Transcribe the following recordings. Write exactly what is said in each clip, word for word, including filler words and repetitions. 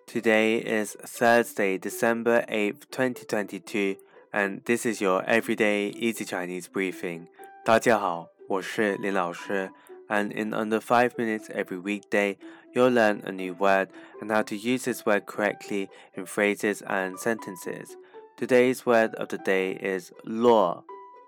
Today is Thursday, December eighth, twenty twenty-two, and this is your Everyday Easy Chinese Briefing. 大家好，我是林老师, and in under five minutes every weekday, you'll learn a new word and how to use this word correctly in phrases and sentences. Today's word of the day is luo,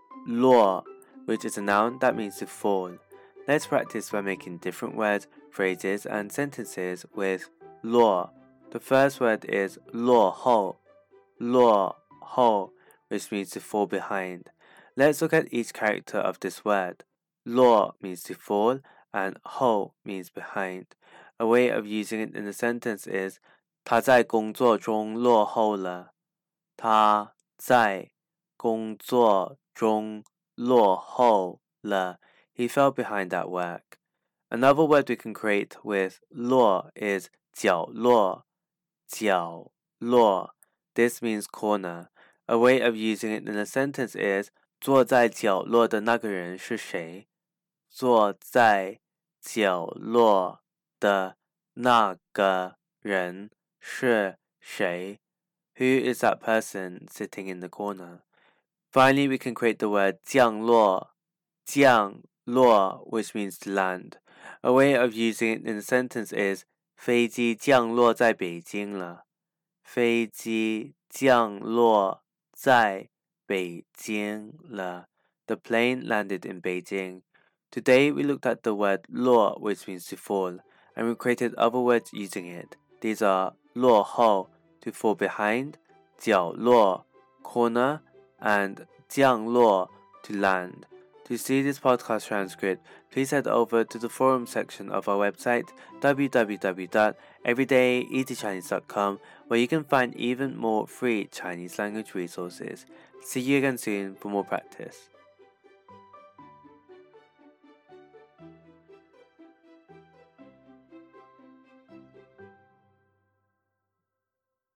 luo, which is a noun that means to fall. Let's practice by making different words, phrases, and sentences with luo.The first word is 落后, 落后, which means to fall behind. Let's look at each character of this word. 落 means to fall and 后 means behind. A way of using it in a sentence is 他在工作中落后了。他在工作中落后了。He fell behind at work. Another word we can create with 落 is 角落。角落 This means corner. A way of using it in a sentence is 坐在角落的那个人是谁？坐在角落的那个人是谁？ Who is that person sitting in the corner? Finally, we can create the word 降落降落 which means to land. A way of using it in a sentence is飞机降落在北京了。飞机降落在北京了。The plane landed in Beijing. Today we looked at the word 落 which means to fall, and we created other words using it. These are 落后 to fall behind, 角落 corner, and 降落 to land.To see this podcast transcript, please head over to the forum section of our website, w w w dot everyday easy chinese dot com, where you can find even more free Chinese language resources. See you again soon for more practice.